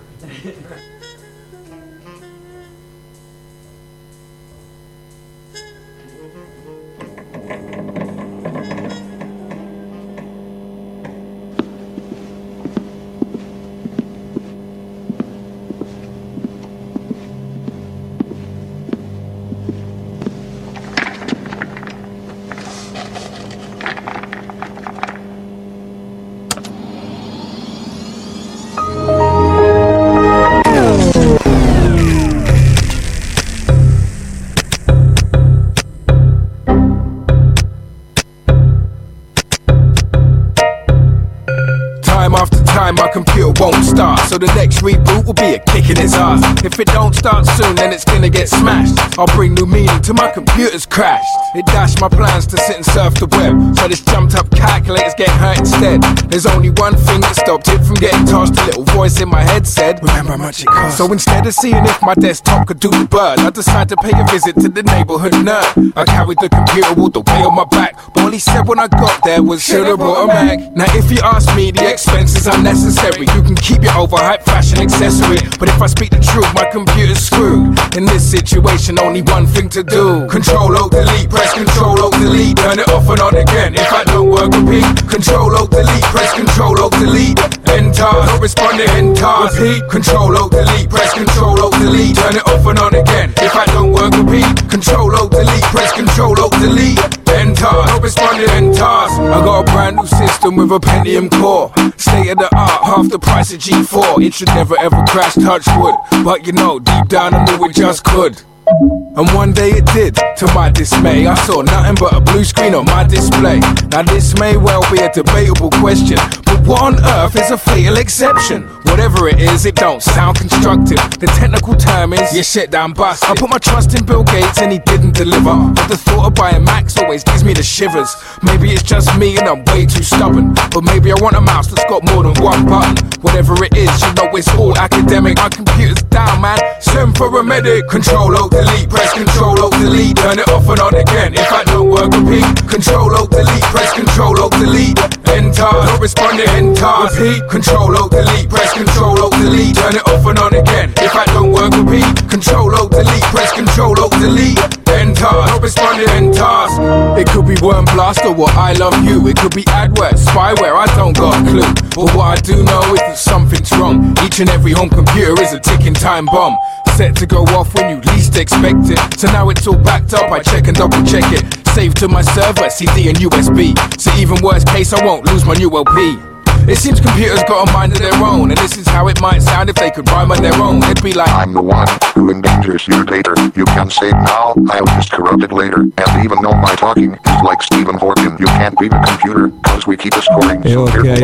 My computer won't start, so the next reboot will be a kick in his ass. If it don't start soon, then it's gonna get smashed. I'll bring new meaning to my computer's crash. It dashed my plans to sit and surf the web, so this jumped up calculator's getting hurt instead. There's only one thing that stopped it from getting tossed. A little voice in my head said, remember how much it cost. So instead of seeing if my desktop could do the bird, I decided to pay a visit to the neighborhood nerd. I carried the computer all the way on my back, but all he said when I got there was, should've brought a Mac. Now if you ask me, the expenses are necessary. You can keep your overhyped fashion accessory, but if I speak the truth, my computer's screwed. In this situation, only one thing to do: Control Alt Delete, press Control Alt Delete, turn it off and on again. If I don't work, repeat. Control Alt Delete, press Control Alt Delete, end task, not responding, end task, repeat. Control Alt Delete, press Control Alt Delete, turn it off and on again. If I don't work, repeat. Control Alt Delete, press Control Alt Delete, end task, not responding, end task. I got a brand new system with a Pentium core, state of the art, half the price of G four. It should never ever crash, touch wood, but you know, deep down I knew it just could. And one day it did, to my dismay. I saw nothing but a blue screen on my display. Now this may well be a debatable question, but what on earth is a fatal exception? Whatever it is, it don't sound constructive. The technical term is, your shit down busted. I put my trust in Bill Gates and he didn't deliver, but the thought of buying Macs always gives me the shivers. Maybe it's just me and I'm way too stubborn, but maybe I want a mouse that's got more than one button. Whatever it is, you know it's all academic. My computer's down, man, send for a medic. Control Alt Delete, press Control Alt Delete, turn it off and on again. If I don't work, repeat. Control Alt Delete, press Control Alt Delete, end task, not responding, end task, repeat. Control Alt Delete, press Control Alt Delete, turn it off and on again. If I don't work, repeat. Control Alt Delete, press Control Alt Delete, end task, not responding, end task. It could be Worm Blast or What I Love You. It could be adware, spyware, I don't got a clue. But what I do know is that something's wrong. Each and every home computer is a ticking time bomb, set to go off when you least expect it. So now it's all backed up, I check and double check it. Saved to my server, C D and U S B. So even worst case, I won't lose my new L P. It seems computers got a mind of their own, and this is how it might sound if they could rhyme on their own. It'd be like, I'm the one who endangers your data. You can save now, I'll just corrupt it later. And even though my talking is like Stephen Hawking, you can't beat a computer, cause we keep a scoring. E ok,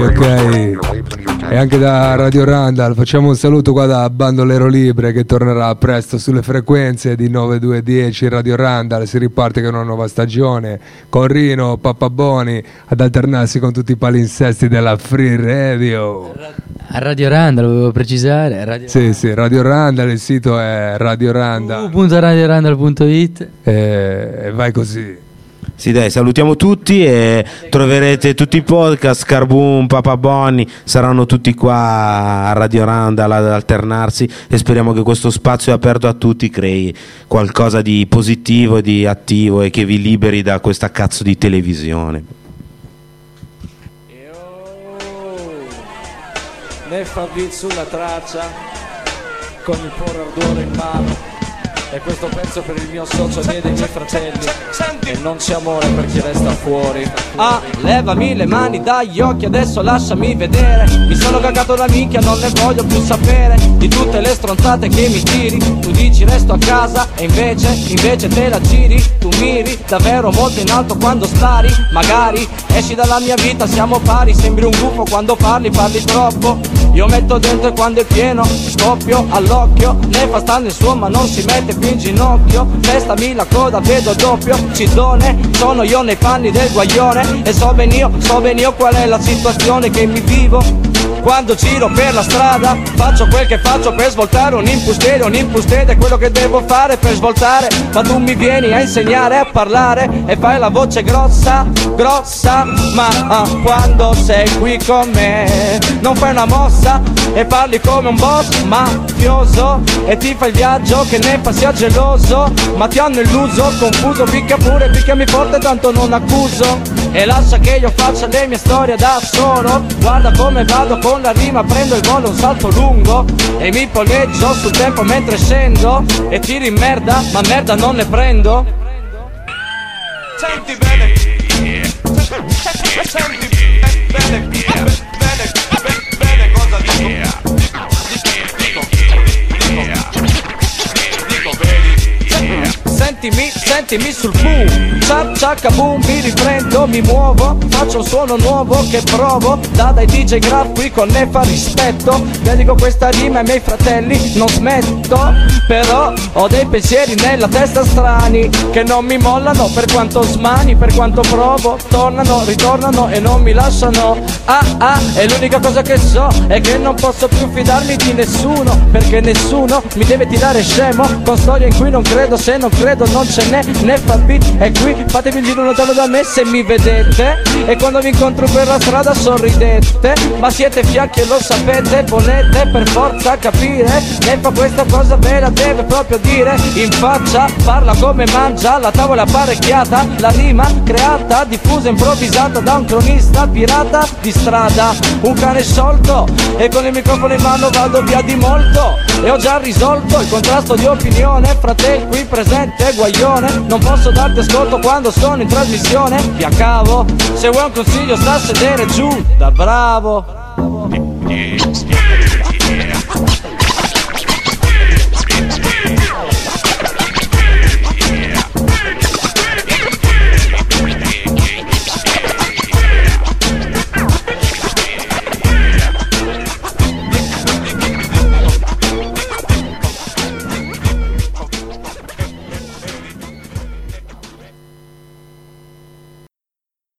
ok. E anche da Radio Randall facciamo un saluto qua da Bandolero Libre, che tornerà presto sulle frequenze di nove due uno zero Radio Randall. Si riparte con una nuova stagione, con Rino, Pappaboni ad alternarsi con tutti i palinsesti della Free Radio. A Radio Randall, volevo precisare. Radio sì, Randall. Sì, Radio Randall, il sito è Radio Randall. w w w punto radio randall punto i t e, e vai così. Sì, dai, salutiamo tutti e troverete tutti i podcast. Carbon, Papa Bonnie saranno tutti qua a Radio Randall ad alternarsi, e speriamo che questo spazio aperto a tutti crei qualcosa di positivo e di attivo e che vi liberi da questa cazzo di televisione. Ne fa beat sulla traccia con il puro ardore in mano, e questo pezzo per il mio socio e dei miei fratelli, e non c'è amore per chi resta fuori. Ah, levami le mani dagli occhi, adesso lasciami vedere. Mi sono cagato la minchia, non ne voglio più sapere di tutte le stronzate che mi tiri. Tu dici resto a casa e invece, invece te la giri. Tu miri davvero molto in alto quando spari. Magari esci dalla mia vita, siamo pari. Sembri un gufo quando parli, parli troppo. io metto dentro e quando è pieno scoppio all'occhio. Ne fa sta nel suo ma non si mette più in ginocchio. Testami la coda, vedo doppio, cidone. Sono io nei panni del guaglione e so ben io, so ben io qual è la situazione che mi vivo. Quando giro per la strada faccio quel che faccio per svoltare un impustede, un impustede è quello che devo fare per svoltare. Ma tu mi vieni a insegnare a parlare e fai la voce grossa, grossa. Ma ah, quando sei qui con me non fai una mossa e parli come un boss mafioso e ti fai il viaggio che ne fa sia geloso. Ma ti hanno illuso, confuso, picca pure, picchiami forte tanto non accuso. E lascia che io faccia le mie storie da solo. Guarda come vado con la rima, prendo il volo, un salto lungo e mi poleggio sul tempo mentre scendo e tiro in merda, ma merda non ne prendo. Senti bene, senti bene, bene, bene, bene cosa dico. Sentimi, sentimi sul boom, ciak ciak boom, mi riprendo, mi muovo, faccio un suono nuovo che provo, da dai D J Graf qui con Nefa rispetto, dedico questa rima ai miei fratelli, non smetto, però ho dei pensieri nella testa strani, che non mi mollano per quanto smani, per quanto provo, tornano, ritornano e non mi lasciano, ah ah, e l'unica cosa che so è che non posso più fidarmi di nessuno, perché nessuno mi deve tirare scemo, con storie in cui non credo, se non credo non ce n'è, ne fa beat e qui fatevi il giro lontano da me se mi vedete e quando vi incontro per la strada sorridete, ma siete fiacchi e lo sapete, volete per forza capire, ne fa questa cosa ve la deve proprio dire in faccia, parla come mangia, la tavola apparecchiata, la rima creata, diffusa, improvvisata da un cronista pirata di strada, un cane sciolto e con il microfono in mano vado via di molto e ho già risolto il contrasto di opinione fra te qui presente guaglione, non posso darti ascolto quando sono in trasmissione, via cavo, se vuoi un consiglio sta a sedere giù da bravo.